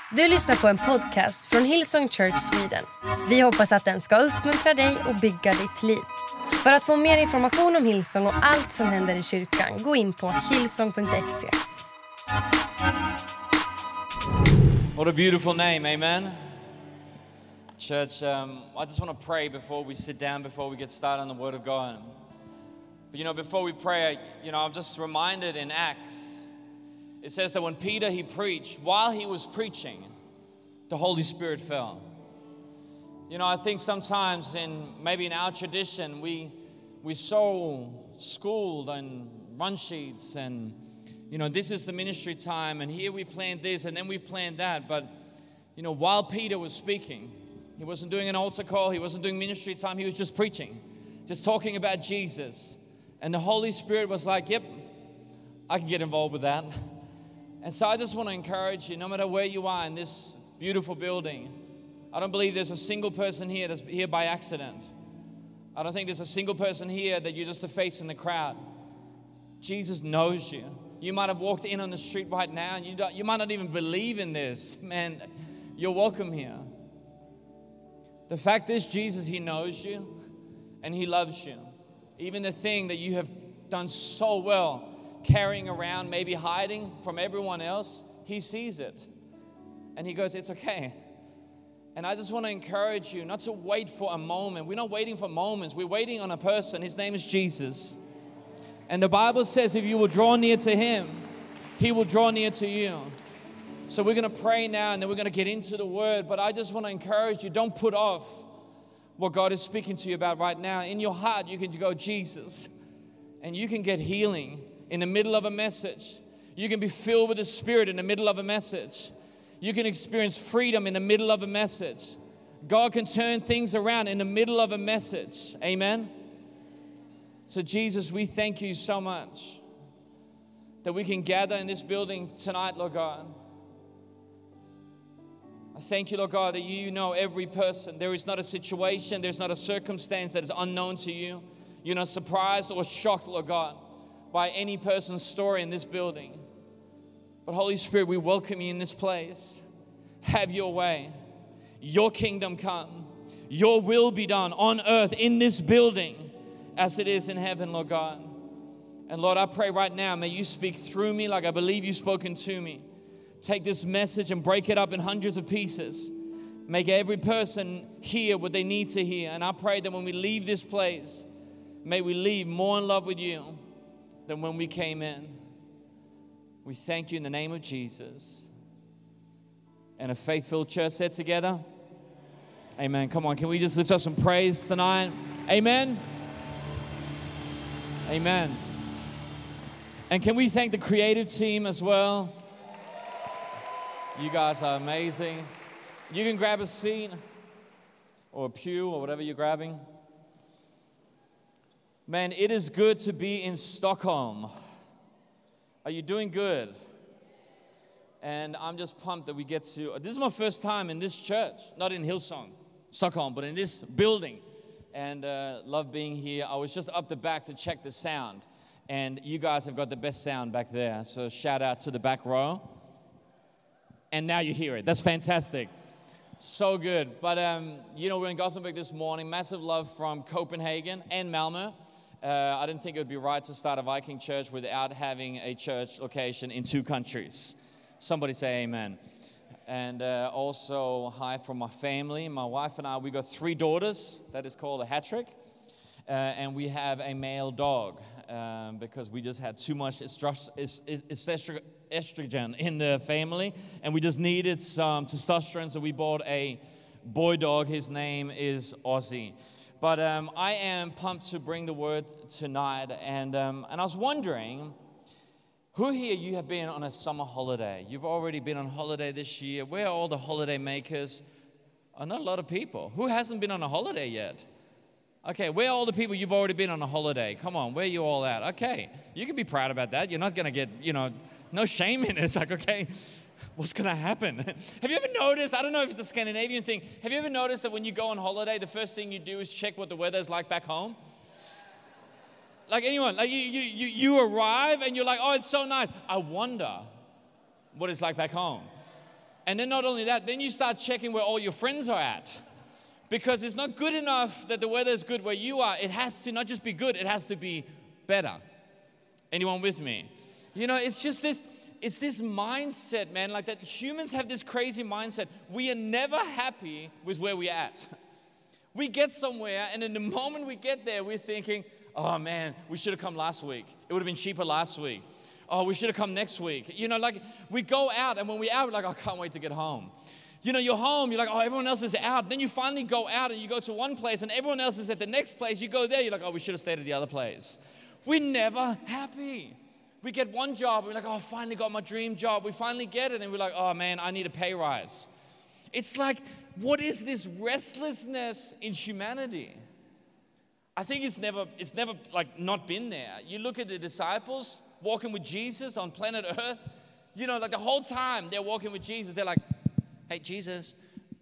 Du lyssnar på en podcast från Hillsong Church Sweden. Vi hoppas att den ska uppmuntra dig och bygga ditt liv. För att få mer information om Hillsong och allt som händer i kyrkan, gå in på hillsong.se. What a beautiful name, amen. Church, I just want to pray before we sit down, before we get started on the Word of God. But before we pray, I'm just reminded in Acts, it says that when Peter, he preached, while he was preaching, the Holy Spirit fell. I think sometimes maybe in our tradition, we so schooled and run sheets and, this is the ministry time and here we planned this and then we've planned that. But, while Peter was speaking, he wasn't doing an altar call, he wasn't doing ministry time, he was just preaching, just talking about Jesus. And the Holy Spirit was like, yep, I can get involved with that. And so I just want to encourage you, no matter where you are in this beautiful building, I don't believe there's a single person here that's here by accident. I don't think there's a single person here that you're just a face in the crowd. Jesus knows you. You might have walked in on the street right now and you might not even believe in this. Man, you're welcome here. The fact is, Jesus, He knows you and He loves you. Even the thing that you have done so well, carrying around, maybe hiding from everyone else, He sees it. And He goes, it's okay. And I just want to encourage you not to wait for a moment. We're not waiting for moments. We're waiting on a person. His name is Jesus. And the Bible says if you will draw near to Him, He will draw near to you. So we're going to pray now and then we're going to get into the Word. But I just want to encourage you, don't put off what God is speaking to you about right now. In your heart, you can go, Jesus. And you can get healing in the middle of a message. You can be filled with the Spirit in the middle of a message. You can experience freedom in the middle of a message. God can turn things around in the middle of a message. Amen? So Jesus, we thank you so much that we can gather in this building tonight, Lord God. I thank you, Lord God, that you know every person. There is not a situation, there's not a circumstance that is unknown to you. You're not surprised or shocked, Lord God, by any person's story in this building. But Holy Spirit, we welcome you in this place. Have your way. Your kingdom come. Your will be done on earth in this building as it is in heaven, Lord God. And Lord, I pray right now, may you speak through me like I believe you've spoken to me. Take this message and break it up in hundreds of pieces. Make every person hear what they need to hear. And I pray that when we leave this place, may we leave more in love with you than when we came in. We thank you in the name of Jesus. And a faith-filled church said together, amen. Come on, can we just lift up some praise tonight? Amen. Amen. And can we thank the creative team as well? You guys are amazing. You can grab a seat or a pew or whatever you're grabbing. Man, it is good to be in Stockholm. Are you doing good? And I'm just pumped that we get to, this is my first time in this church, not in Hillsong, Stockholm, but in this building. And love being here. I was just up the back to check the sound. And you guys have got the best sound back there. So shout out to the back row. And now you hear it. That's fantastic. So good. But, we're in Gothenburg this morning. Massive love from Copenhagen and Malmö. I didn't think it would be right to start a Viking church without having a church location in 2 countries. Somebody say amen. And also, hi from my family. My wife and I, we got 3 daughters. That is called a hat trick. And we have a male dog because we just had too much estrogen in the family. And we just needed some testosterone, so we bought a boy dog. His name is Ozzy. But I am pumped to bring the word tonight. And I was wondering, who here you have been on a summer holiday? You've already been on holiday this year. Where are all the holiday makers? Not a lot of people. Who hasn't been on a holiday yet? Okay, where are all the people you've already been on a holiday? Come on, where are you all at? Okay, you can be proud about that. You're not going to get, no shame in it. It's like, okay, what's going to happen? Have you ever noticed, I don't know if it's a Scandinavian thing, have you ever noticed that when you go on holiday, the first thing you do is check what the weather's like back home? Like anyone, like you arrive and you're like, oh, it's so nice. I wonder what it's like back home. And then not only that, then you start checking where all your friends are at. Because it's not good enough that the weather is good where you are. It has to not just be good, it has to be better. Anyone with me? You know, it's just this mindset, man, like that humans have this crazy mindset. We are never happy with where we're at. We get somewhere, and in the moment we get there, we're thinking, oh man, we should have come last week. It would have been cheaper last week. Oh, we should have come next week. You know, like we go out, and when we're out, we're like, oh, I can't wait to get home. You know, you're home, you're like, oh, everyone else is out. Then you finally go out and you go to one place and everyone else is at the next place. You go there, you're like, oh, we should have stayed at the other place. We're never happy. We get one job, we're like, oh, I finally got my dream job. We finally get it and we're like, oh man, I need a pay rise. It's like, what is this restlessness in humanity? I think it's never like not been there. You look at the disciples walking with Jesus on planet Earth, you know, like the whole time they're walking with Jesus, they're like, hey, Jesus,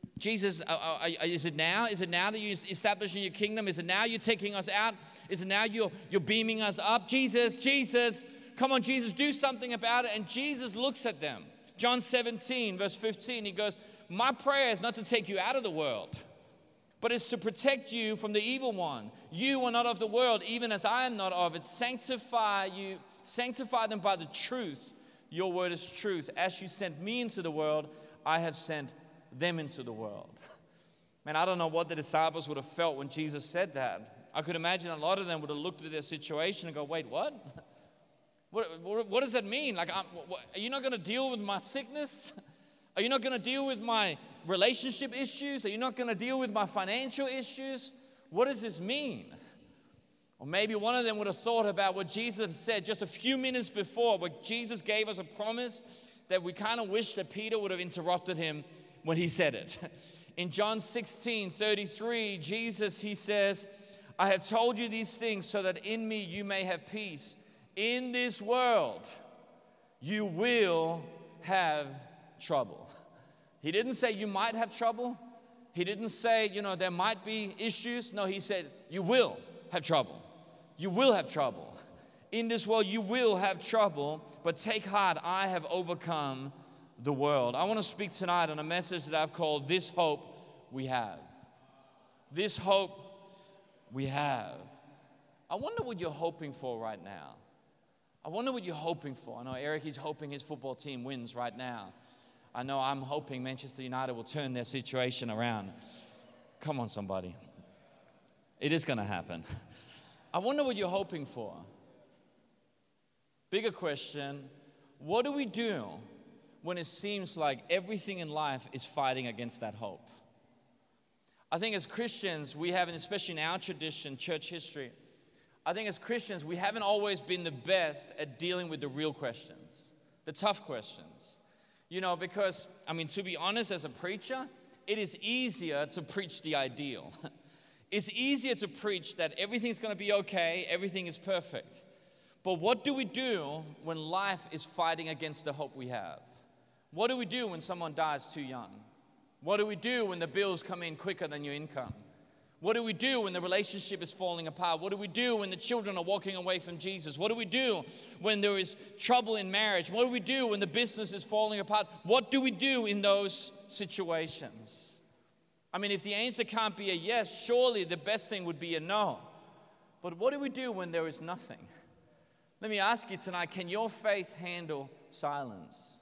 is it now? Is it now that you're establishing your kingdom? Is it now you're taking us out? Is it now you're beaming us up? Jesus, come on, Jesus, do something about it. And Jesus looks at them. John 17, verse 15, he goes, my prayer is not to take you out of the world, but it's to protect you from the evil one. You are not of the world, even as I am not of it. Sanctify them by the truth. Your word is truth. As you sent me into the world, I have sent them into the world. Man, I don't know what the disciples would have felt when Jesus said that. I could imagine a lot of them would have looked at their situation and go, wait, what? What does that mean? Like, are you not going to deal with my sickness? Are you not going to deal with my relationship issues? Are you not going to deal with my financial issues? What does this mean? Or maybe one of them would have thought about what Jesus said just a few minutes before, where Jesus gave us a promise that we kind of wish that Peter would have interrupted him when he said it. In John 16:33, Jesus, he says, I have told you these things so that in me you may have peace. In this world, you will have trouble. He didn't say you might have trouble. He didn't say, you know, there might be issues. No, he said, you will have trouble. You will have trouble. In this world, you will have trouble, but take heart, I have overcome the world. I want to speak tonight on a message that I've called This Hope We Have. This hope we have. I wonder what you're hoping for right now. I wonder what you're hoping for. I know Eric, he's hoping his football team wins right now. I know I'm hoping Manchester United will turn their situation around. Come on, somebody. It is going to happen. I wonder what you're hoping for. Bigger question, what do we do when it seems like everything in life is fighting against that hope? I think as Christians, we haven't, especially in our tradition, church history, I think as Christians, we haven't always been the best at dealing with the real questions, the tough questions. You know, because, I mean, to be honest, as a preacher, it is easier to preach the ideal. It's easier to preach that everything's going to be okay, everything is perfect. But what do we do when life is fighting against the hope we have? What do we do when someone dies too young? What do we do when the bills come in quicker than your income? What do we do when the relationship is falling apart? What do we do when the children are walking away from Jesus? What do we do when there is trouble in marriage? What do we do when the business is falling apart? What do we do in those situations? I mean, if the answer can't be a yes, surely the best thing would be a no. But what do we do when there is nothing? Let me ask you tonight, can your faith handle silence?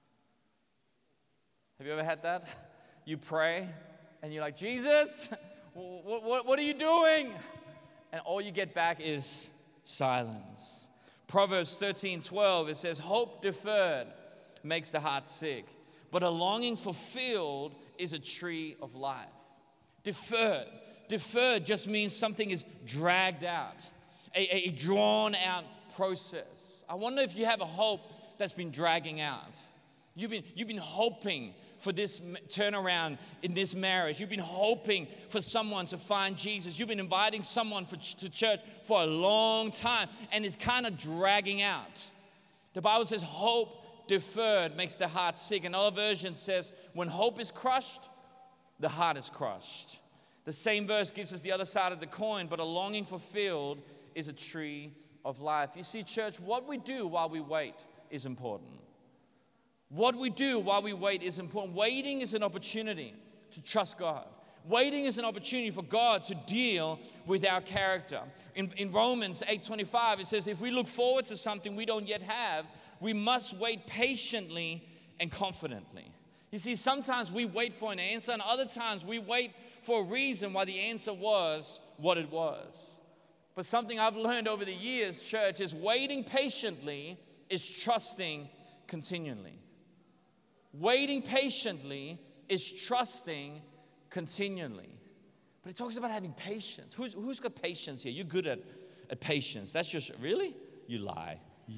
Have you ever had that? You pray and you're like, Jesus, what are you doing? And all you get back is silence. Proverbs 13:12, it says, hope deferred makes the heart sick, but a longing fulfilled is a tree of life. Deferred just means something is dragged out, a drawn out process. I wonder if you have a hope that's been dragging out. You've been hoping for this turnaround in this marriage. You've been hoping for someone to find Jesus. You've been inviting someone to church for a long time, and it's kind of dragging out. The Bible says hope deferred makes the heart sick. Another version says when hope is crushed, the heart is crushed. The same verse gives us the other side of the coin, but a longing fulfilled is a tree of life. You see, church, what we do while we wait is important. What we do while we wait is important. Waiting is an opportunity to trust God. Waiting is an opportunity for God to deal with our character. In Romans 8:25, it says, if we look forward to something we don't yet have, we must wait patiently and confidently. You see, sometimes we wait for an answer, and other times we wait for a reason why the answer was what it was. But something I've learned over the years, church, is waiting patiently is trusting continually. Waiting patiently is trusting continually. But it talks about having patience. Who's got patience here? You're good at patience. That's just, really? You lie.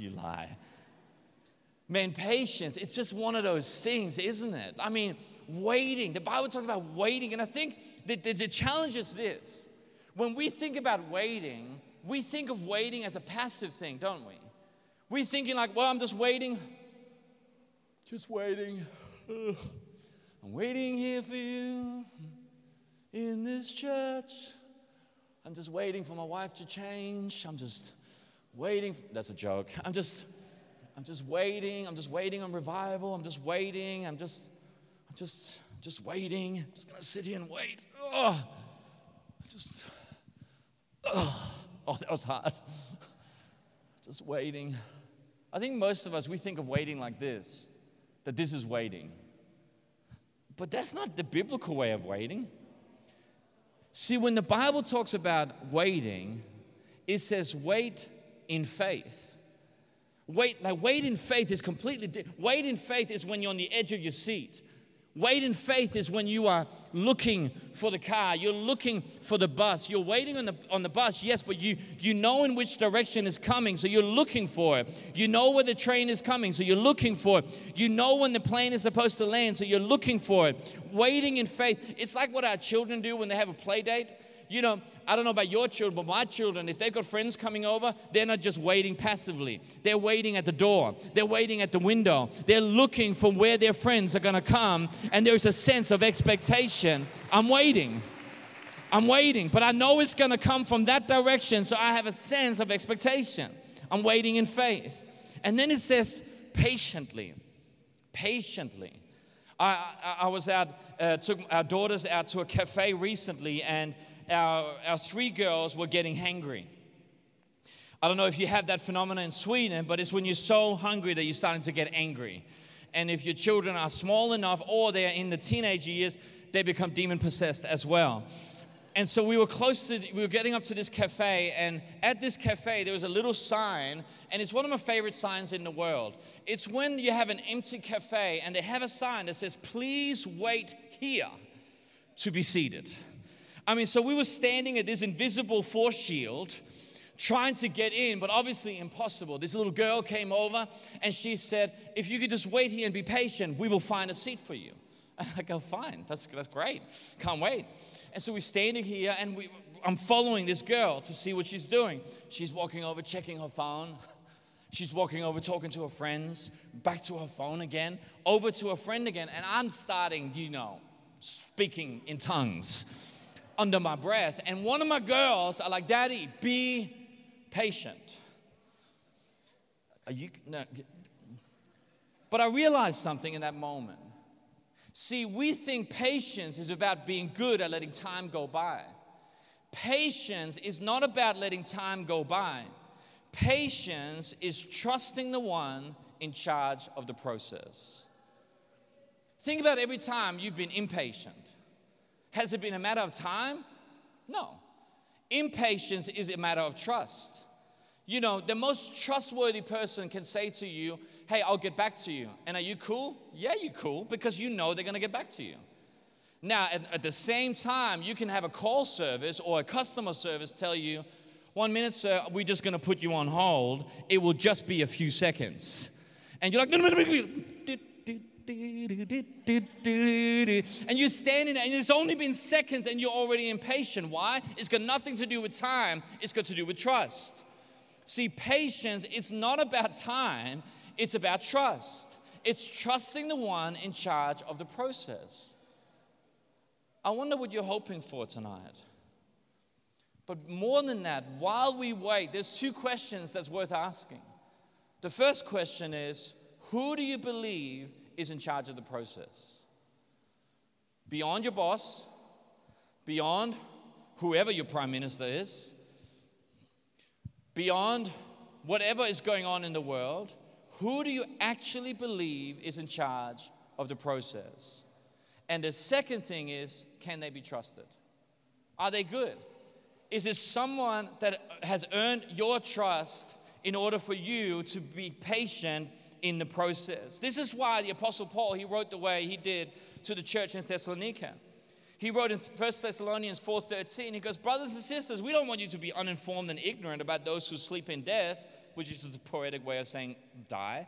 Man, patience, it's just one of those things, isn't it? I mean, waiting. The Bible talks about waiting. And I think that the challenge is this. When we think about waiting, we think of waiting as a passive thing, don't we? We're thinking like, well, I'm just waiting. Just waiting. I'm waiting here for you in this church. I'm just waiting for my wife to change. I'm just waiting. That's a joke. I'm just waiting. I'm just waiting on revival. I'm just waiting. I'm just waiting. I'm just gonna sit here and wait. Oh, that was hard. Just waiting. I think most of us, we think of waiting like this, that this is waiting. But that's not the biblical way of waiting. See, when the Bible talks about waiting, it says wait in faith. Wait in faith is completely different. Wait in faith is when you're on the edge of your seat. Wait in faith is when you are looking for the car. You're looking for the bus. You're waiting on the bus, yes, but you know in which direction it's coming, so you're looking for it. You know where the train is coming, so you're looking for it. You know when the plane is supposed to land, so you're looking for it. Waiting in faith. It's like what our children do when they have a play date. You know, I don't know about your children, but my children, if they've got friends coming over, they're not just waiting passively. They're waiting at the door. They're waiting at the window. They're looking for where their friends are going to come, and there's a sense of expectation. I'm waiting, but I know it's going to come from that direction, so I have a sense of expectation. I'm waiting in faith. And then it says patiently. I was out, took our daughters out to a cafe recently, and our three girls were getting hangry. I don't know if you have that phenomenon in Sweden, but it's when you're so hungry that you're starting to get angry. And if your children are small enough or they're in the teenage years, they become demon-possessed as well. And so we were getting up to this cafe, and at this cafe there was a little sign, and it's one of my favorite signs in the world. It's when you have an empty cafe and they have a sign that says, "Please wait here to be seated." I mean, so we were standing at this invisible force shield trying to get in, but obviously impossible. This little girl came over and she said, "If you could just wait here and be patient, we will find a seat for you." And I go, "Fine, that's great. Can't wait." And so we're standing here, and I'm following this girl to see what she's doing. She's walking over, checking her phone. She's walking over, talking to her friends, back to her phone again, over to her friend again. And I'm starting, speaking in tongues under my breath. And one of my girls are like, "Daddy, be patient." No. But I realized something in that moment. See, we think patience is about being good at letting time go by. Patience is not about letting time go by. Patience is trusting the one in charge of the process. Think about every time you've been impatient. Has it been a matter of time? No. Impatience is a matter of trust. The most trustworthy person can say to you, "Hey, I'll get back to you." And are you cool? Yeah, you're cool, because you know they're going to get back to you. Now, at the same time, you can have a call service or a customer service tell you, "1 minute, sir, we're just going to put you on hold. It will just be a few seconds." And you're like, "No. And you're standing there, and it's only been seconds, and you're already impatient. Why? It's got nothing to do with time. It's got to do with trust. See, patience is not about time. It's about trust. It's trusting the one in charge of the process. I wonder what you're hoping for tonight. But more than that, while we wait, there's two questions that's worth asking. The first question is, who do you believe is in charge of the process. Beyond your boss, beyond whoever your prime minister is, beyond whatever is going on in the world, who do you actually believe is in charge of the process? And the second thing is, can they be trusted? Are they good? Is it someone that has earned your trust in order for you to be patient in the process? This is why the Apostle Paul, he wrote the way he did to the church in Thessalonica. He wrote in 1 Thessalonians 4:13, he goes, brothers and sisters, we don't want you to be uninformed and ignorant about those who sleep in death, which is just a poetic way of saying die,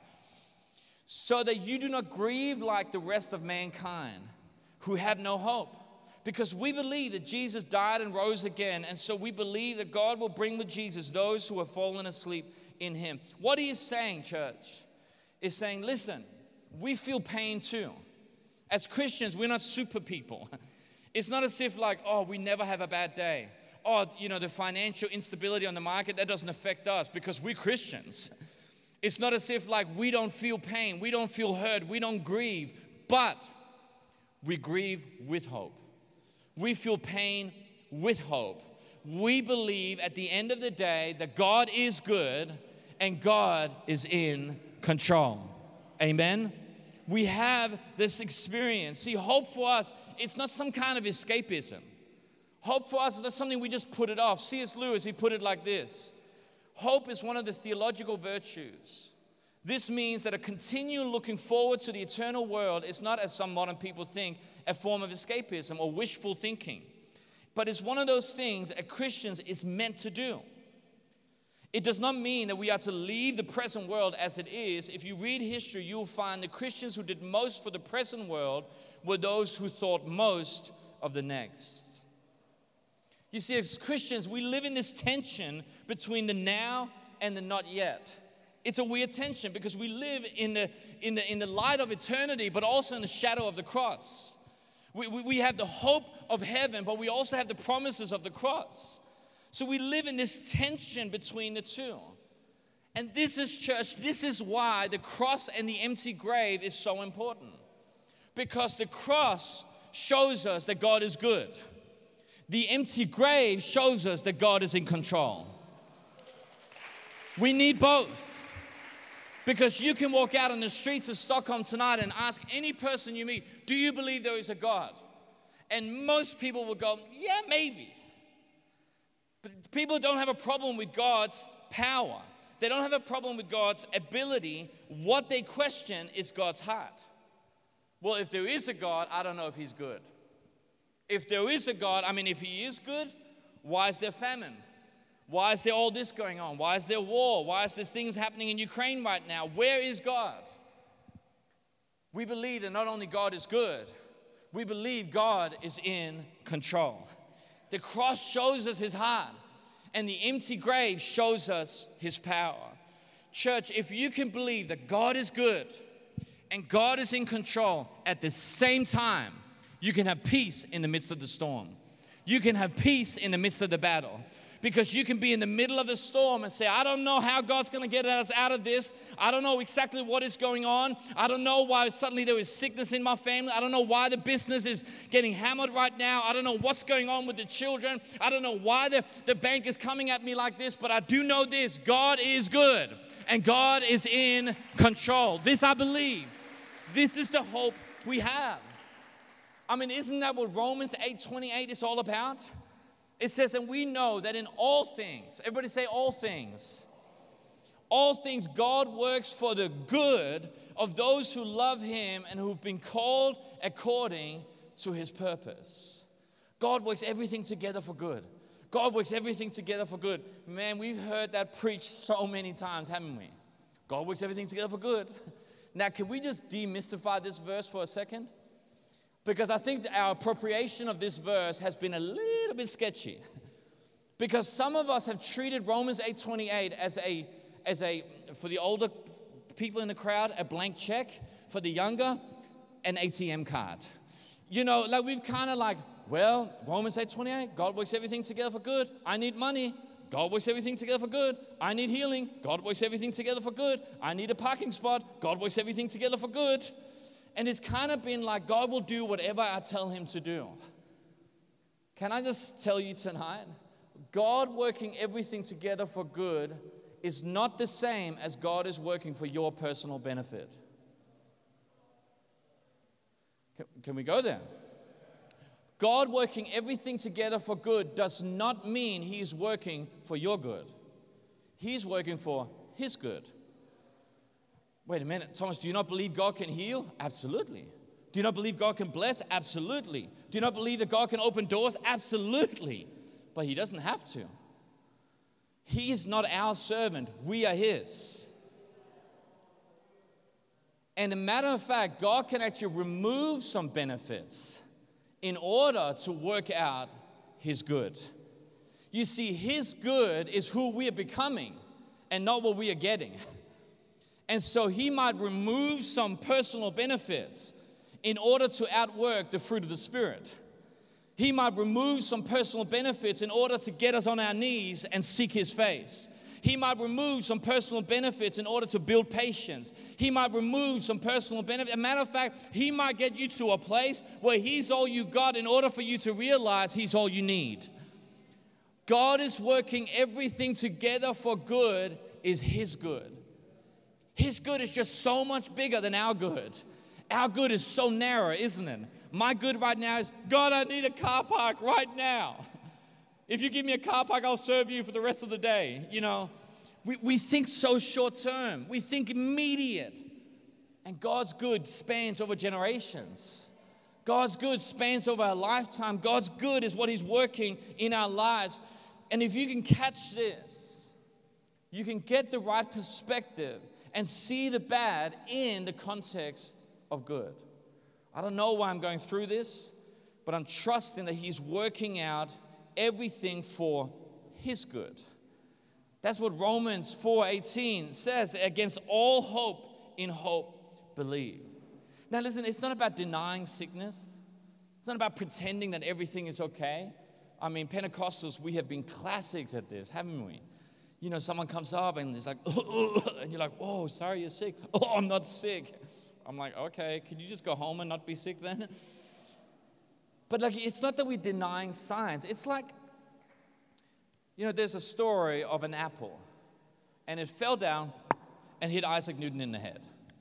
so that you do not grieve like the rest of mankind who have no hope. Because we believe that Jesus died and rose again, and so we believe that God will bring with Jesus those who have fallen asleep in him. What he is saying, church, is saying, listen, we feel pain too. As Christians, we're not super people. It's not as if like, oh, we never have a bad day. Oh, the financial instability on the market, that doesn't affect us because we're Christians. It's not as if like we don't feel pain, we don't feel hurt, we don't grieve, but we grieve with hope. We feel pain with hope. We believe at the end of the day that God is good and God is in control. Amen? We have this experience. See, hope for us, it's not some kind of escapism. Hope for us is not something we just put it off. C.S. Lewis, he put it like this. Hope is one of the theological virtues. This means that a continual looking forward to the eternal world is not, as some modern people think, a form of escapism or wishful thinking. But it's one of those things that Christians is meant to do. It does not mean that we are to leave the present world as it is. If you read history, you will find the Christians who did most for the present world were those who thought most of the next. You see, as Christians, we live in this tension between the now and the not yet. It's a weird tension because we live in the light of eternity, but also in the shadow of the cross. We have the hope of heaven, but we also have the promises of the cross. So we live in this tension between the two. And this is, church, this is why the cross and the empty grave is so important. Because the cross shows us that God is good. The empty grave shows us that God is in control. We need both. Because you can walk out on the streets of Stockholm tonight and ask any person you meet, do you believe there is a God? And most people will go, yeah, maybe. But people don't have a problem with God's power. They don't have a problem with God's ability. What they question is God's heart. Well, if there is a God, I don't know if he's good. If there is a God, if he is good, why is there famine? Why is there all this going on? Why is there war? Why is there things happening in Ukraine right now? Where is God? We believe that not only God is good, we believe God is in control. The cross shows us his heart, and the empty grave shows us his power. Church, if you can believe that God is good and God is in control at the same time, you can have peace in the midst of the storm. You can have peace in the midst of the battle. Because you can be in the middle of the storm and say, I don't know how God's going to get us out of this. I don't know exactly what is going on. I don't know why suddenly there is sickness in my family. I don't know why the business is getting hammered right now. I don't know what's going on with the children. I don't know why the bank is coming at me like this. But I do know this. God is good and God is in control. This I believe. This is the hope we have. Isn't that what Romans 8:28 is all about? It says, and we know that in all things, everybody say all things God works for the good of those who love him and who've been called according to his purpose. God works everything together for good. God works everything together for good. Man, we've heard that preached so many times, haven't we? God works everything together for good. Now, can we just demystify this verse for a second? Because I think that our appropriation of this verse has been a little bit sketchy. Because some of us have treated Romans 8:28 as a for the older people in the crowd, a blank check. For the younger, an ATM card. We've kind of Romans 8:28, God works everything together for good. I need money. God works everything together for good. I need healing. God works everything together for good. I need a parking spot. God works everything together for good. And it's kind of been like God will do whatever I tell him to do. Can I just tell you tonight, God working everything together for good is not the same as God is working for your personal benefit. Can we go there? God working everything together for good does not mean he is working for your good. He's working for his good. Wait a minute, Thomas, do you not believe God can heal? Absolutely. Do you not believe God can bless? Absolutely. Do you not believe that God can open doors? Absolutely. But he doesn't have to. He is not our servant. We are his. And a matter of fact, God can actually remove some benefits in order to work out his good. You see, his good is who we are becoming and not what we are getting. And so he might remove some personal benefits in order to outwork the fruit of the Spirit. He might remove some personal benefits in order to get us on our knees and seek his face. He might remove some personal benefits in order to build patience. He might remove some personal benefits. As a matter of fact, he might get you to a place where he's all you got in order for you to realize he's all you need. God is working everything together for good is his good. His good is just so much bigger than our good. Our good is so narrow, isn't it? My good right now is, God, I need a car park right now. If you give me a car park, I'll serve you for the rest of the day. You know, we think so short term. We think immediate. And God's good spans over generations. God's good spans over a lifetime. God's good is what he's working in our lives. And if you can catch this, you can get the right perspective and see the bad in the context of good. I don't know why I'm going through this, but I'm trusting that he's working out everything for his good. That's what Romans 4:18 says. Against all hope, in hope, believe. Now listen, it's not about denying sickness. It's not about pretending that everything is okay. I mean, Pentecostals, we have been classics at this, haven't we? You know, someone comes up and it's like, and you're like, oh, sorry, you're sick. Oh, I'm not sick. I'm like, okay, can you just go home and not be sick then? But like, it's not that we're denying science. It's like, you know, there's a story of an apple, and it fell down and hit Isaac Newton in the head.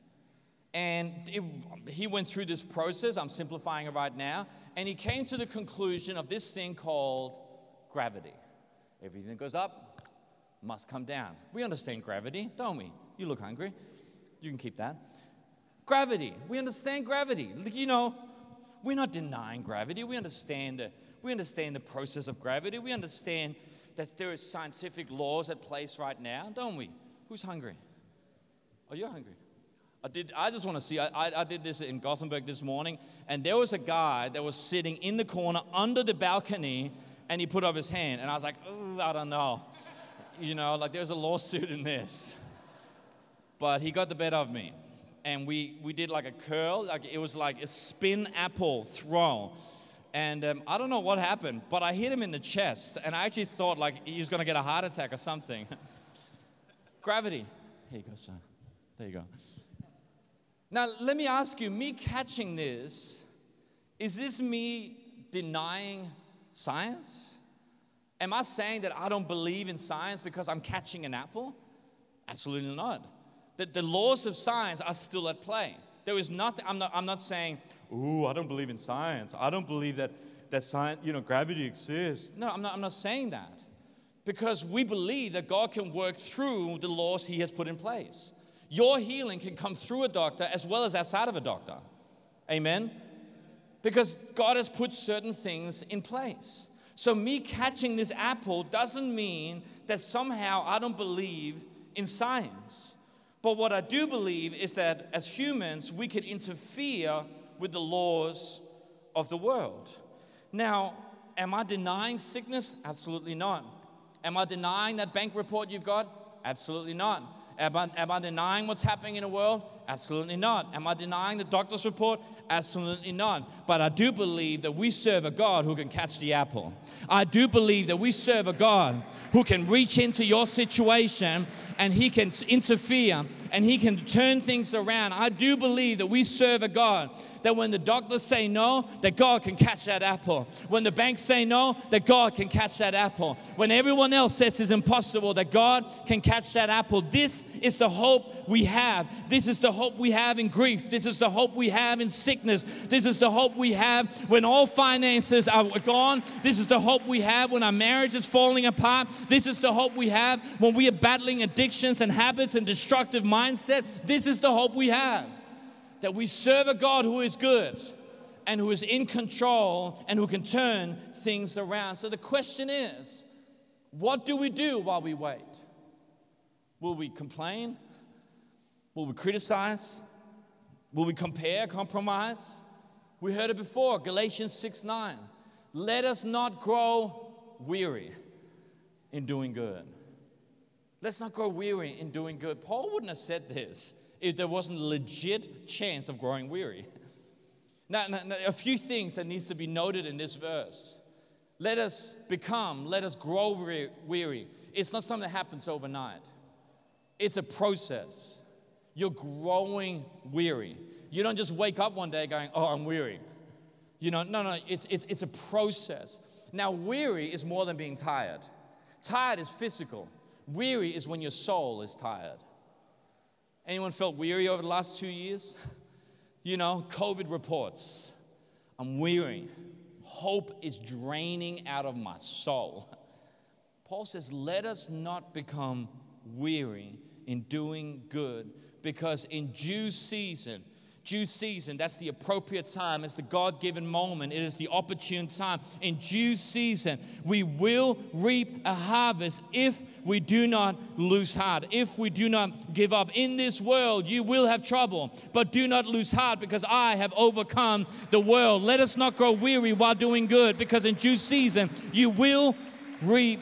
And he went through this process, I'm simplifying it right now, and he came to the conclusion of this thing called gravity. Everything that goes up must come down. We understand gravity, don't we? You look hungry. You can keep that. Gravity. We understand gravity. You know, we're not denying gravity. We understand the process of gravity. We understand that there are scientific laws at place right now, don't we? Who's hungry? Oh, you're hungry. I just want to see. I did this in Gothenburg this morning, and there was a guy that was sitting in the corner under the balcony, and he put up his hand, and I was like, oh, I don't know. You know, like there's a lawsuit in this. But he got the better of me. And we did like a curl, like it was like a spin apple throw. And I don't know what happened, but I hit him in the chest. And I actually thought like he was going to get a heart attack or something. Gravity. Here you go, son. There you go. Now, let me ask you, me catching this, is this me denying science? Am I saying that I don't believe in science because I'm catching an apple? Absolutely not. The laws of science are still at play. There is nothing, I'm not saying, ooh, I don't believe in science. I don't believe that science, you know, gravity exists. No, I'm not saying that. Because we believe that God can work through the laws he has put in place. Your healing can come through a doctor as well as outside of a doctor. Amen? Because God has put certain things in place. So me catching this apple doesn't mean that somehow I don't believe in science. But what I do believe is that as humans, we could interfere with the laws of the world. Now, am I denying sickness? Absolutely not. Am I denying that bank report you've got? Absolutely not. Am I denying what's happening in the world? Absolutely not. Am I denying the doctor's report? Absolutely not. But I do believe that we serve a God who can catch the apple. I do believe that we serve a God who can reach into your situation and He can interfere and He can turn things around. I do believe that we serve a God that when the doctors say no, that God can catch that apple. When the banks say no, that God can catch that apple. When everyone else says it's impossible, that God can catch that apple. This is the hope we have. This is the hope we have in grief. This is the hope we have in sickness. This is the hope we have when all finances are gone. This is the hope we have when our marriage is falling apart. This is the hope we have when we are battling addictions and habits and destructive mindset. This is the hope we have. That we serve a God who is good and who is in control and who can turn things around. So the question is, what do we do while we wait? Will we complain? Will we criticize? Will we compare, compromise? We heard it before, Galatians 6:9. Let us not grow weary in doing good. Let's not grow weary in doing good. Paul wouldn't have said this if there wasn't a legit chance of growing weary. Now, a few things that needs to be noted in this verse. Let us grow weary. It's not something that happens overnight. It's a process. You're growing weary. You don't just wake up one day going, oh, I'm weary. No, it's a process. Now, weary is more than being tired. Tired is physical. Weary is when your soul is tired. Anyone felt weary over the last 2 years? COVID reports. I'm weary. Hope is draining out of my soul. Paul says, let us not become weary in doing good, because in due season, that's the appropriate time. It's the God-given moment. It is the opportune time. In due season, we will reap a harvest if we do not lose heart, if we do not give up. In this world, you will have trouble, but do not lose heart, because I have overcome the world. Let us not grow weary while doing good, because in due season, you will reap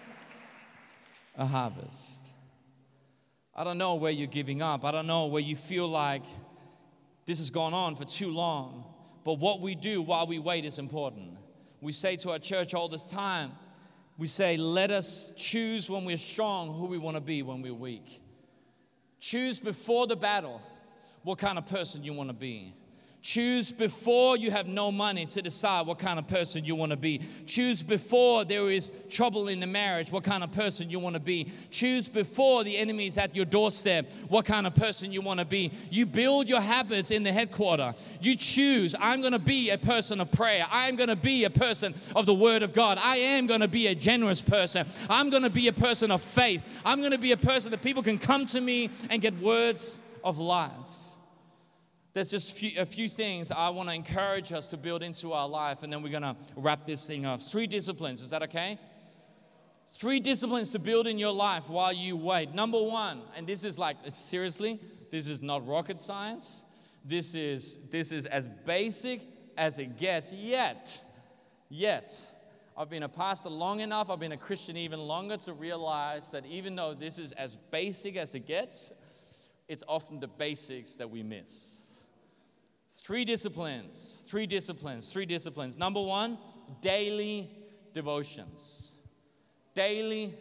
a harvest. I don't know where you're giving up. I don't know where you feel like this has gone on for too long. But what we do while we wait is important. We say to our church all this time, we say, let us choose when we're strong who we want to be when we're weak. Choose before the battle what kind of person you want to be. Choose before you have no money to decide what kind of person you want to be. Choose before there is trouble in the marriage what kind of person you want to be. Choose before the enemy is at your doorstep what kind of person you want to be. You build your habits in the headquarters. You choose, I'm going to be a person of prayer. I'm going to be a person of the Word of God. I am going to be a generous person. I'm going to be a person of faith. I'm going to be a person that people can come to me and get words of life. There's just a few things I want to encourage us to build into our life, and then we're going to wrap this thing up. 3 disciplines, is that okay? 3 disciplines to build in your life while you wait. Number 1, and this is like, seriously, this is not rocket science. This is as basic as it gets yet. I've been a pastor long enough, I've been a Christian even longer to realize that even though this is as basic as it gets, it's often the basics that we miss. 3 disciplines. Number 1, daily devotions. Daily,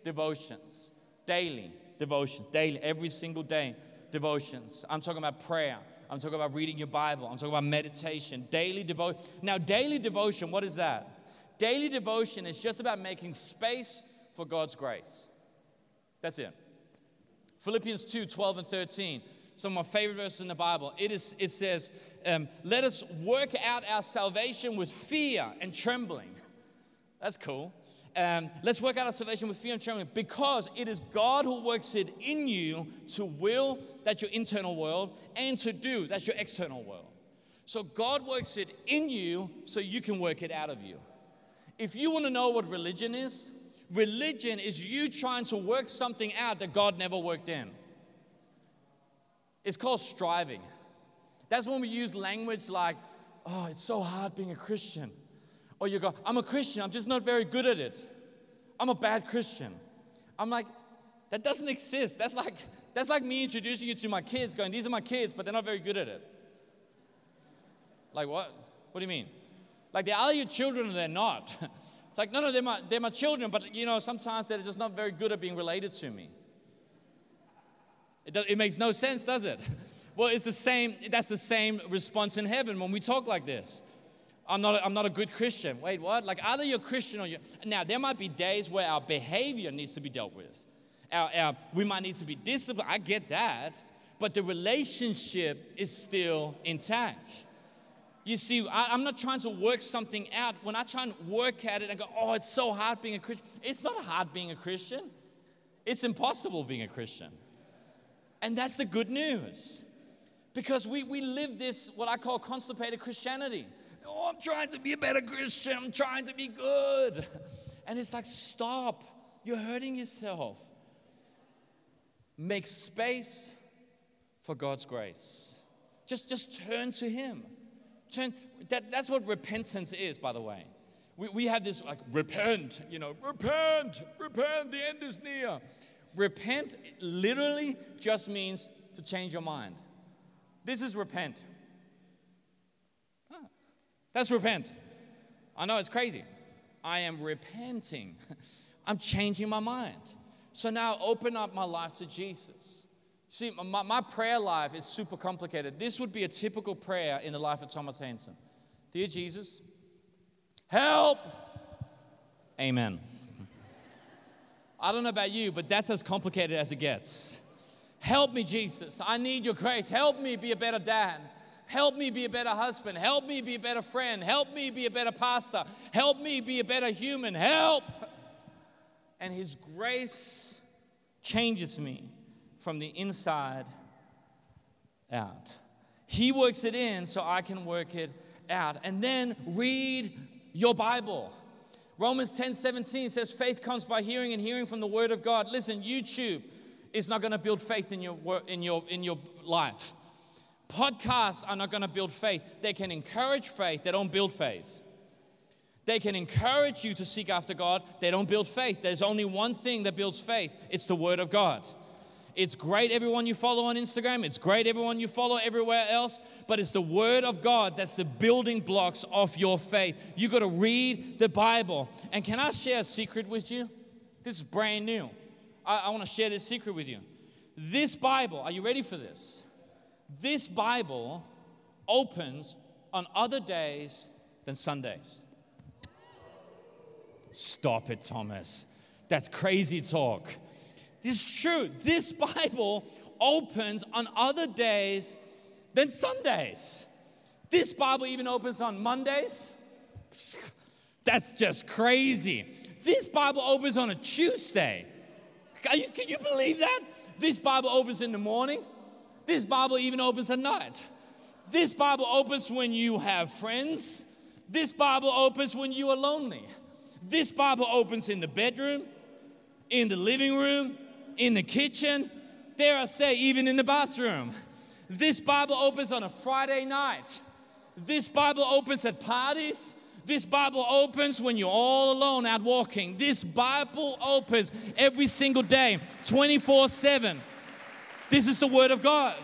every single day devotions. I'm talking about prayer. I'm talking about reading your Bible. I'm talking about meditation. Daily devotion. Now, daily devotion, what is that? Daily devotion is just about making space for God's grace. That's it. Philippians 2:12 and 13. Some of my favorite verses in the Bible. It says, let us work out our salvation with fear and trembling. That's cool. Let's work out our salvation with fear and trembling, because it is God who works it in you to will, that's your internal world, and to do, that's your external world. So God works it in you so you can work it out of you. If you want to know what religion is you trying to work something out that God never worked in. It's called striving. That's when we use language like, oh, it's so hard being a Christian. Or you go, I'm a Christian, I'm just not very good at it. I'm a bad Christian. I'm like, that doesn't exist. That's That's like me introducing you to my kids, going, these are my kids, but they're not very good at it. Like what? What do you mean? Like they're either your children or they're not. It's like, no, they're my children, but sometimes they're just not very good at being related to me. It makes no sense, does it? Well, it's the same. That's the same response in heaven when we talk like this. I'm not a good Christian. Wait, what? Like either you're Christian or you're... Now, there might be days where our behavior needs to be dealt with. We might need to be disciplined. I get that. But the relationship is still intact. You see, I'm not trying to work something out. When I try and work at it and go, oh, it's so hard being a Christian. It's not hard being a Christian. It's impossible being a Christian. And that's the good news. Because we live this, what I call constipated Christianity. Oh, I'm trying to be a better Christian. I'm trying to be good. And it's like, stop. You're hurting yourself. Make space for God's grace. Just turn to Him. That's what repentance is, by the way. We have this like, repent, repent, the end is near. Repent literally just means to change your mind. This is repent. That's repent. I know it's crazy. I am repenting. I'm changing my mind. So now open up my life to Jesus. See, my prayer life is super complicated. This would be a typical prayer in the life of Thomas Hansen. Dear Jesus, help. Amen. I don't know about you, but that's as complicated as it gets. Help me, Jesus. I need your grace. Help me be a better dad. Help me be a better husband. Help me be a better friend. Help me be a better pastor. Help me be a better human. Help. And His grace changes me from the inside out. He works it in so I can work it out. And then read your Bible. Romans 10:17 says faith comes by hearing and hearing from the Word of God. Listen, YouTube is not going to build faith in your life. Podcasts are not going to build faith. They can encourage faith. They don't build faith. They can encourage you to seek after God. They don't build faith. There's only one thing that builds faith. It's the Word of God. It's great everyone you follow on Instagram. It's great everyone you follow everywhere else. But it's the Word of God that's the building blocks of your faith. You got to read the Bible. And can I share a secret with you? This is brand new. I want to share this secret with you. This Bible, are you ready for this? This Bible opens on other days than Sundays. Stop it, Thomas. That's crazy talk. This is true. This Bible opens on other days than Sundays. This Bible even opens on Mondays. That's just crazy. This Bible opens on a Tuesday. Can you believe that? This Bible opens in the morning. This Bible even opens at night. This Bible opens when you have friends. This Bible opens when you are lonely. This Bible opens in the bedroom, in the living room, in the kitchen, dare I say, even in the bathroom. This Bible opens on a Friday night. This Bible opens at parties. This Bible opens when you're all alone out walking. This Bible opens every single day, 24/7. This is the Word of God.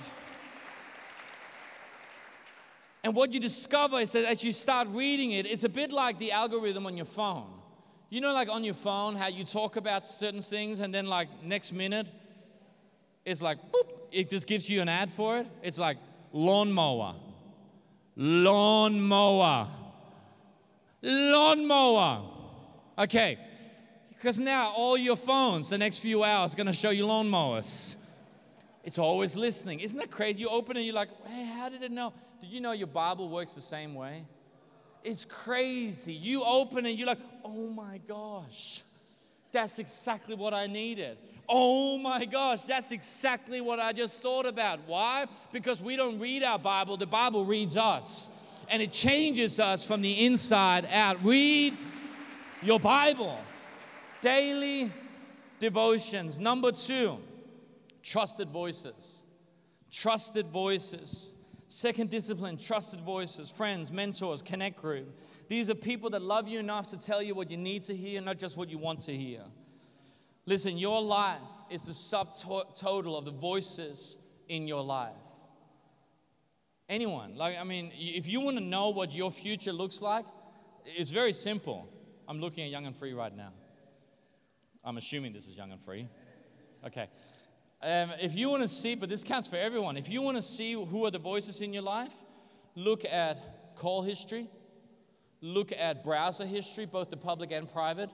And what you discover is that as you start reading it, it's a bit like the algorithm on your phone. You know, like on your phone, how you talk about certain things and then like next minute, it's like, boop, it just gives you an ad for it. It's like lawnmower, lawnmower, lawnmower. Okay, because now all your phones the next few hours are going to show you lawnmowers. It's always listening. Isn't that crazy? You open it and you're like, hey, how did it know? Did you know your Bible works the same way? It's crazy. You open it, you're like, oh my gosh, that's exactly what I needed. Oh my gosh, that's exactly what I just thought about. Why? Because we don't read our Bible, the Bible reads us. And it changes us from the inside out. Read your Bible. Daily devotions. Number 2, trusted voices. Trusted voices. Second discipline, trusted voices, friends, mentors, connect group. These are people that love you enough to tell you what you need to hear, not just what you want to hear. Listen, your life is the subtotal of the voices in your life. Anyone, if you want to know what your future looks like, it's very simple. I'm looking at Young and Free right now. I'm assuming this is Young and Free. Okay. If you want to see, but this counts for everyone. If you want to see who are the voices in your life, look at call history. Look at browser history, both the public and private.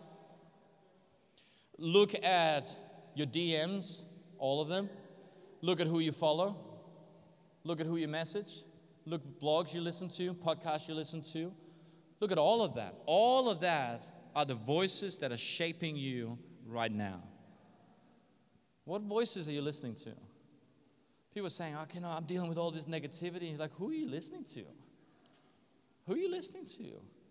Look at your DMs, all of them. Look at who you follow. Look at who you message. Look at blogs you listen to, podcasts you listen to. Look at all of that. All of that are the voices that are shaping you right now. What voices are you listening to? People are saying, I'm dealing with all this negativity. And you're like, who are you listening to? Who are you listening to?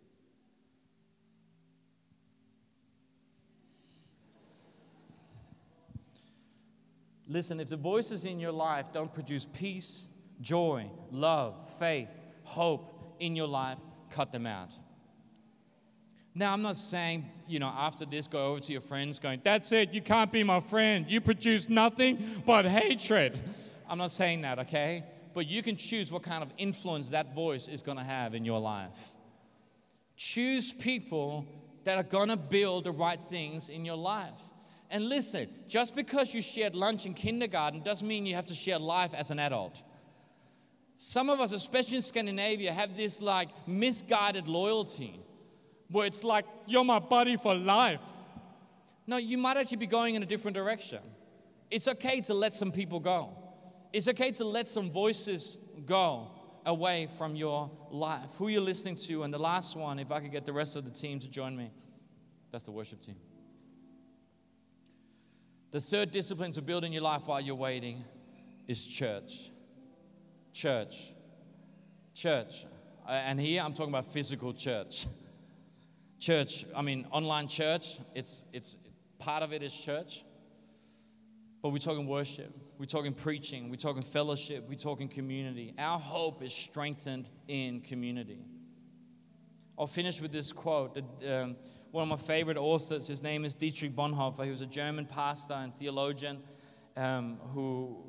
Listen, if the voices in your life don't produce peace, joy, love, faith, hope in your life, cut them out. Now, I'm not saying, after this, go over to your friends going, that's it, you can't be my friend. You produce nothing but hatred. I'm not saying that, okay? But you can choose what kind of influence that voice is going to have in your life. Choose people that are going to build the right things in your life. And listen, just because you shared lunch in kindergarten doesn't mean you have to share life as an adult. Some of us, especially in Scandinavia, have this misguided loyalty where it's like, you're my buddy for life. No, you might actually be going in a different direction. It's okay to let some people go. It's okay to let some voices go away from your life. Who you're listening to. And the last one, if I could get the rest of the team to join me, that's the worship team. The third discipline to build in your life while you're waiting is church. Church. And here I'm talking about physical church. Church, online church, it's part of it is church. But we're talking worship, we're talking preaching, we're talking fellowship, we're talking community. Our hope is strengthened in community. I'll finish with this quote. One of my favorite authors, his name is Dietrich Bonhoeffer. He was a German pastor and theologian who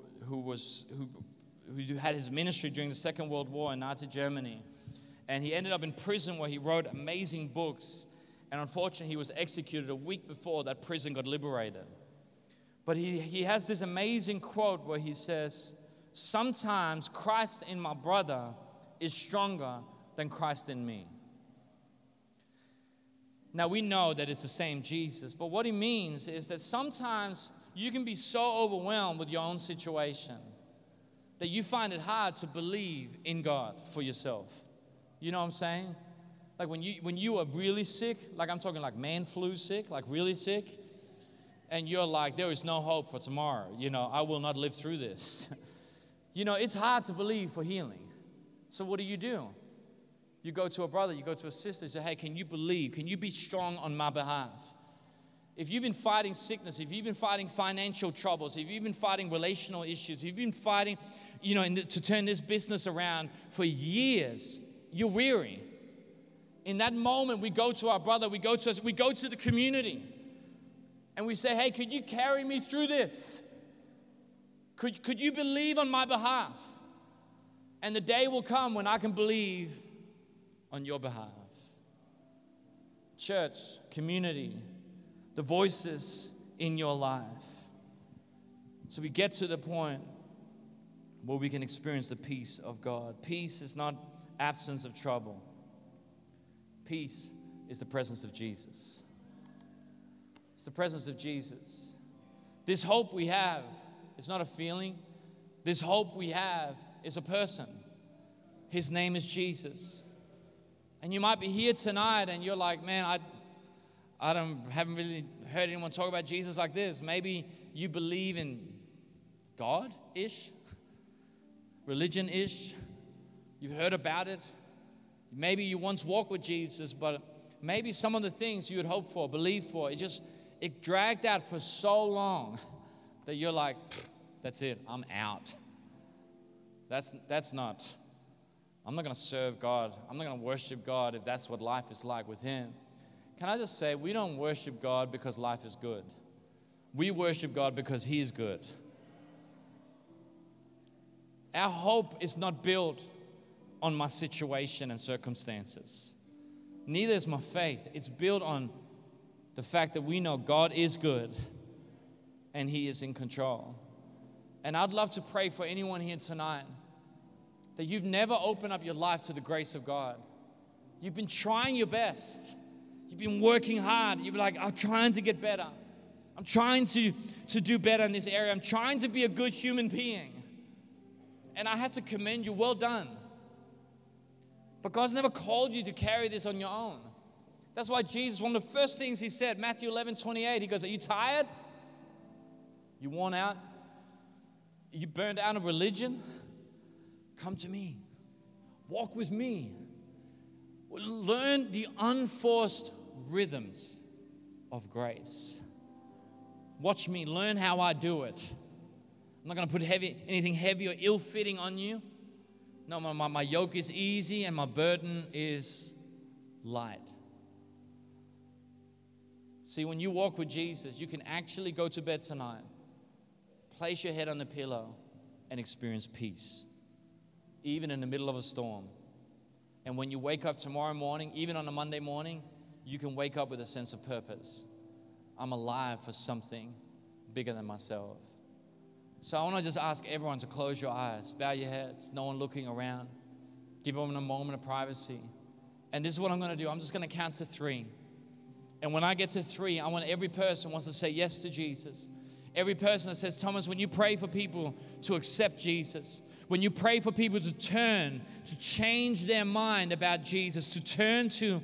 had his ministry during the Second World War in Nazi Germany. And he ended up in prison where he wrote amazing books. And unfortunately, he was executed a week before that prison got liberated. But he has this amazing quote where he says, sometimes Christ in my brother is stronger than Christ in me. Now, we know that it's the same Jesus, but what he means is that sometimes you can be so overwhelmed with your own situation that you find it hard to believe in God for yourself. You know what I'm saying? Like when you are really sick, like I'm talking like man flu sick, like really sick, and you're like, there is no hope for tomorrow. I will not live through this. It's hard to believe for healing. So what do? You go to a brother, you go to a sister, and say, hey, can you believe? Can you be strong on my behalf? If you've been fighting sickness, if you've been fighting financial troubles, if you've been fighting relational issues, if you've been fighting, to turn this business around for years, you're weary. In that moment, we go to our brother, we go to the community, and we say, hey, could you carry me through this? Could you believe on my behalf? And the day will come when I can believe on your behalf. Church, community, the voices in your life. So we get to the point where we can experience the peace of God. Peace is not absence of trouble. Peace is the presence of Jesus. It's the presence of Jesus. This hope we have is not a feeling. This hope we have is a person. His name is Jesus. And you might be here tonight and you're like, man, I haven't really heard anyone talk about Jesus like this. Maybe you believe in God-ish, religion-ish. You've heard about it. Maybe you once walked with Jesus, but maybe some of the things you had hoped for, believed for, it dragged out for so long that you're like, that's it, I'm out. I'm not going to serve God. I'm not going to worship God if that's what life is like with Him. Can I just say, we don't worship God because life is good. We worship God because He is good. Our hope is not built on my situation and circumstances. Neither is my faith. It's built on the fact that we know God is good and He is in control. And I'd love to pray for anyone here tonight that you've never opened up your life to the grace of God. You've been trying your best. You've been working hard. You've been like, I'm trying to get better. I'm trying to do better in this area. I'm trying to be a good human being. And I have to commend you. Well done. But God's never called you to carry this on your own. That's why Jesus, one of the first things He said, Matthew 11:28, He goes, are you tired? You worn out? You burned out of religion? Come to me. Walk with me. Learn the unforced rhythms of grace. Watch me. Learn how I do it. I'm not going to put anything heavy or ill-fitting on you. No, my yoke is easy and my burden is light. See, when you walk with Jesus, you can actually go to bed tonight, place your head on the pillow, and experience peace, even in the middle of a storm. And when you wake up tomorrow morning, even on a Monday morning, you can wake up with a sense of purpose. I'm alive for something bigger than myself. So I want to just ask everyone to close your eyes, bow your heads, no one looking around. Give them a moment of privacy. And this is what I'm going to do. I'm just going to count to 3. And when I get to 3, I want every person who wants to say yes to Jesus. Every person that says, Thomas, when you pray for people to accept Jesus, when you pray for people to turn, to change their mind about Jesus, to turn to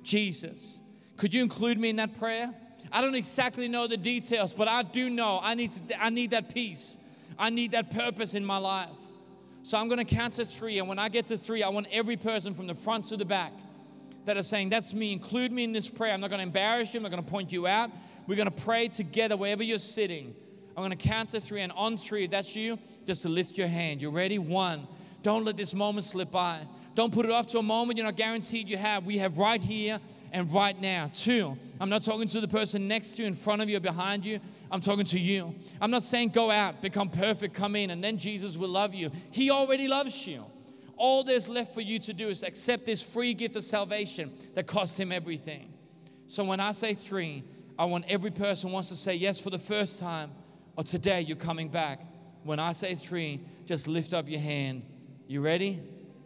Jesus, could you include me in that prayer? I don't exactly know the details, but I do know I need that peace. I need that purpose in my life. So I'm going to count to 3, and when I get to 3, I want every person from the front to the back that are saying, that's me, include me in this prayer. I'm not going to embarrass you. I'm not going to point you out. We're going to pray together wherever you're sitting. I'm going to count to 3, and on 3, if that's you, just to lift your hand. You ready? 1. Don't let this moment slip by. Don't put it off to a moment you're not guaranteed you have. We have right here and right now. 2, I'm not talking to the person next to you, in front of you, or behind you. I'm talking to you. I'm not saying go out, become perfect, come in, and then Jesus will love you. He already loves you. All there's left for you to do is accept this free gift of salvation that cost Him everything. So when I say 3, I want every person who wants to say yes for the first time, or today you're coming back. When I say 3, just lift up your hand. You ready?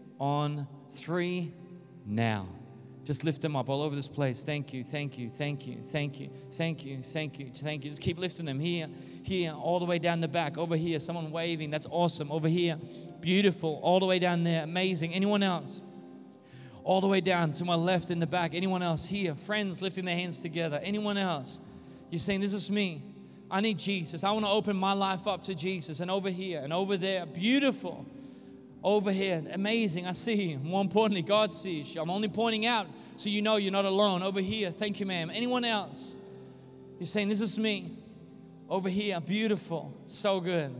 On 3, now. Just lift them up all over this place. Thank you, thank you, thank you, thank you, thank you, thank you, thank you. Just keep lifting them here, all the way down the back, over here. Someone waving, that's awesome. Over here, beautiful, all the way down there, amazing. Anyone else? All the way down to my left in the back. Anyone else here? Friends lifting their hands together. Anyone else? You're saying, this is me. I need Jesus. I want to open my life up to Jesus. And over here and over there, beautiful. Over here, amazing. I see you. More importantly, God sees you. I'm only pointing out so you know you're not alone. Over here, thank you, ma'am. Anyone else? You're saying, this is me. Over here, beautiful. So good.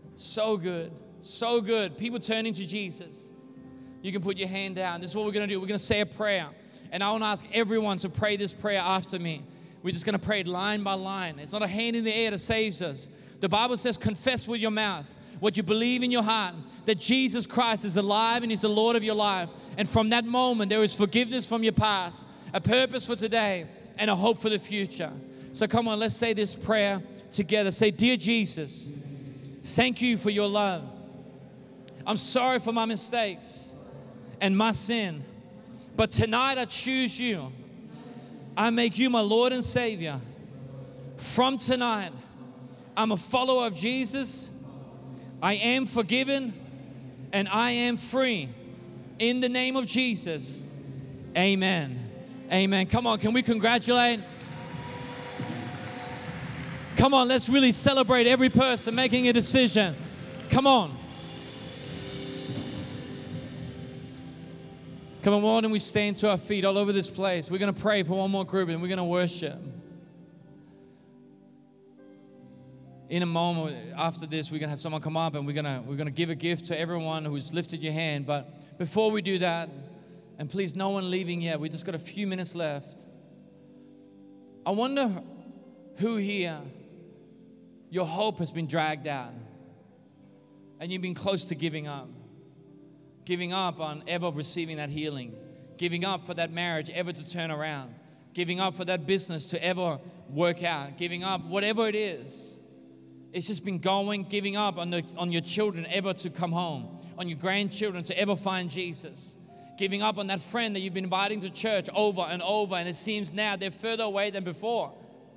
So good. So good. People turning to Jesus. You can put your hand down. This is what we're going to do. We're going to say a prayer. And I want to ask everyone to pray this prayer after me. We're just going to pray it line by line. It's not a hand in the air that saves us. The Bible says, confess with your mouth what you believe in your heart, that Jesus Christ is alive and He's the Lord of your life. And from that moment, there is forgiveness from your past, a purpose for today, and a hope for the future. So come on, let's say this prayer together. Say, dear Jesus, thank you for your love. I'm sorry for my mistakes and my sin, but tonight I choose you. I make you my Lord and Savior. From tonight, I'm a follower of Jesus. I am forgiven and I am free. In the name of Jesus, amen. Amen. Come on, can we congratulate? Come on, let's really celebrate every person making a decision. Come on. Come on, why don't we stand to our feet all over this place? We're going to pray for one more group and we're going to worship. In a moment after this, we're going to have someone come up and we're going to give a gift to everyone who's lifted your hand. But before we do that, and please no one leaving yet, we just got a few minutes left. I wonder who here Your hope has been dragged out. And you've been close to giving up. Giving up on ever receiving that healing. Giving up for that marriage ever to turn around. Giving up for that business to ever work out. Giving up, whatever it is. It's just been going, giving up on your children ever to come home. On your grandchildren to ever find Jesus. Giving up on that friend that you've been inviting to church over and over, and it seems now they're further away than before.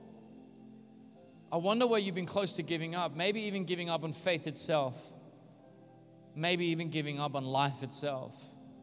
I wonder where you've been close to giving up. Maybe even giving up on faith itself. Maybe even giving up on life itself.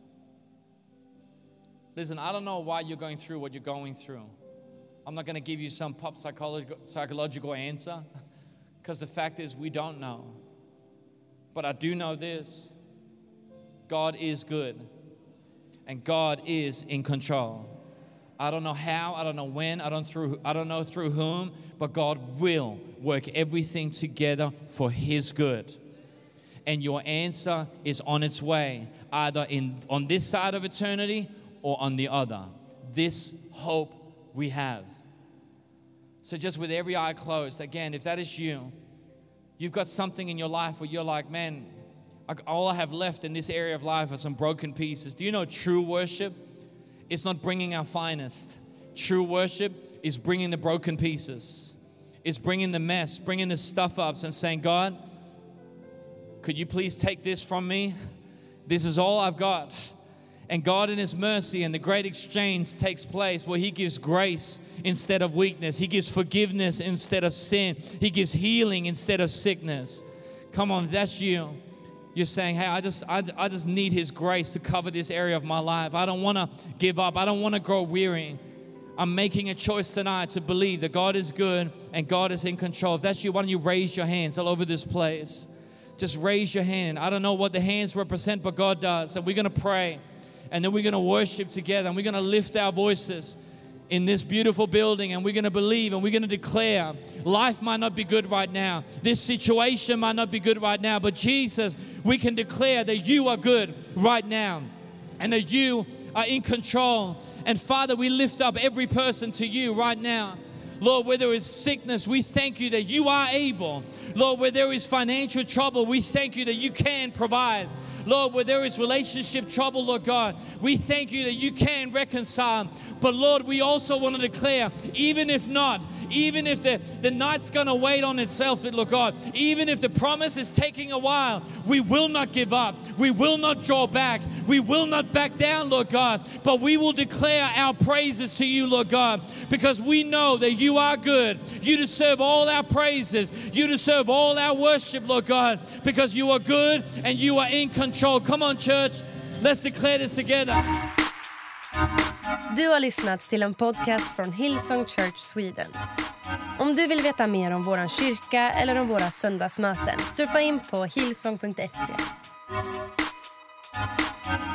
Listen, I don't know why you're going through what you're going through. I'm not going to give you some pop psychological answer, because the fact is we don't know. But I do know this. God is good. And God is in control. I don't know how, I don't know when, I don't know through whom, but God will work everything together for His good. And your answer is on its way, either on this side of eternity or on the other. This hope we have. So just with every eye closed, again, if that is you, you've got something in your life where you're like, man, all I have left in this area of life are some broken pieces. Do you know true worship is not bringing our finest? True worship is bringing the broken pieces. It's bringing the mess, bringing the stuff ups and saying, God, could you please take this from me? This is all I've got. And God in His mercy and the great exchange takes place where He gives grace instead of weakness. He gives forgiveness instead of sin. He gives healing instead of sickness. Come on, if that's you. You're saying, hey, I just need His grace to cover this area of my life. I don't want to give up. I don't want to grow weary. I'm making a choice tonight to believe that God is good and God is in control. If that's you, why don't you raise your hands all over this place? Just raise your hand. I don't know what the hands represent, but God does. And we're going to pray. And then we're going to worship together. And we're going to lift our voices in this beautiful building, and we're going to believe and we're going to declare life might not be good right now. This situation might not be good right now, but Jesus, we can declare that you are good right now and that you are in control. And Father, we lift up every person to you right now. Lord, where there is sickness, we thank you that you are able. Lord, where there is financial trouble, we thank you that you can provide. Lord, where there is relationship trouble, Lord God, we thank you that you can reconcile. But Lord, we also want to declare, even if not, even if the night's going to wait on itself, Lord God, even if the promise is taking a while, we will not give up. We will not draw back. We will not back down, Lord God, but we will declare our praises to you, Lord God, because we know that you are good. You deserve all our praises. You deserve all our worship, Lord God, because you are good and you are in control. Come on, church. Let's declare this together. Du har lyssnat till en podcast från Hillsong Church Sweden. Om du vill veta mer om våran kyrka eller om våra söndagsmöten, surfa in på hillsong.se.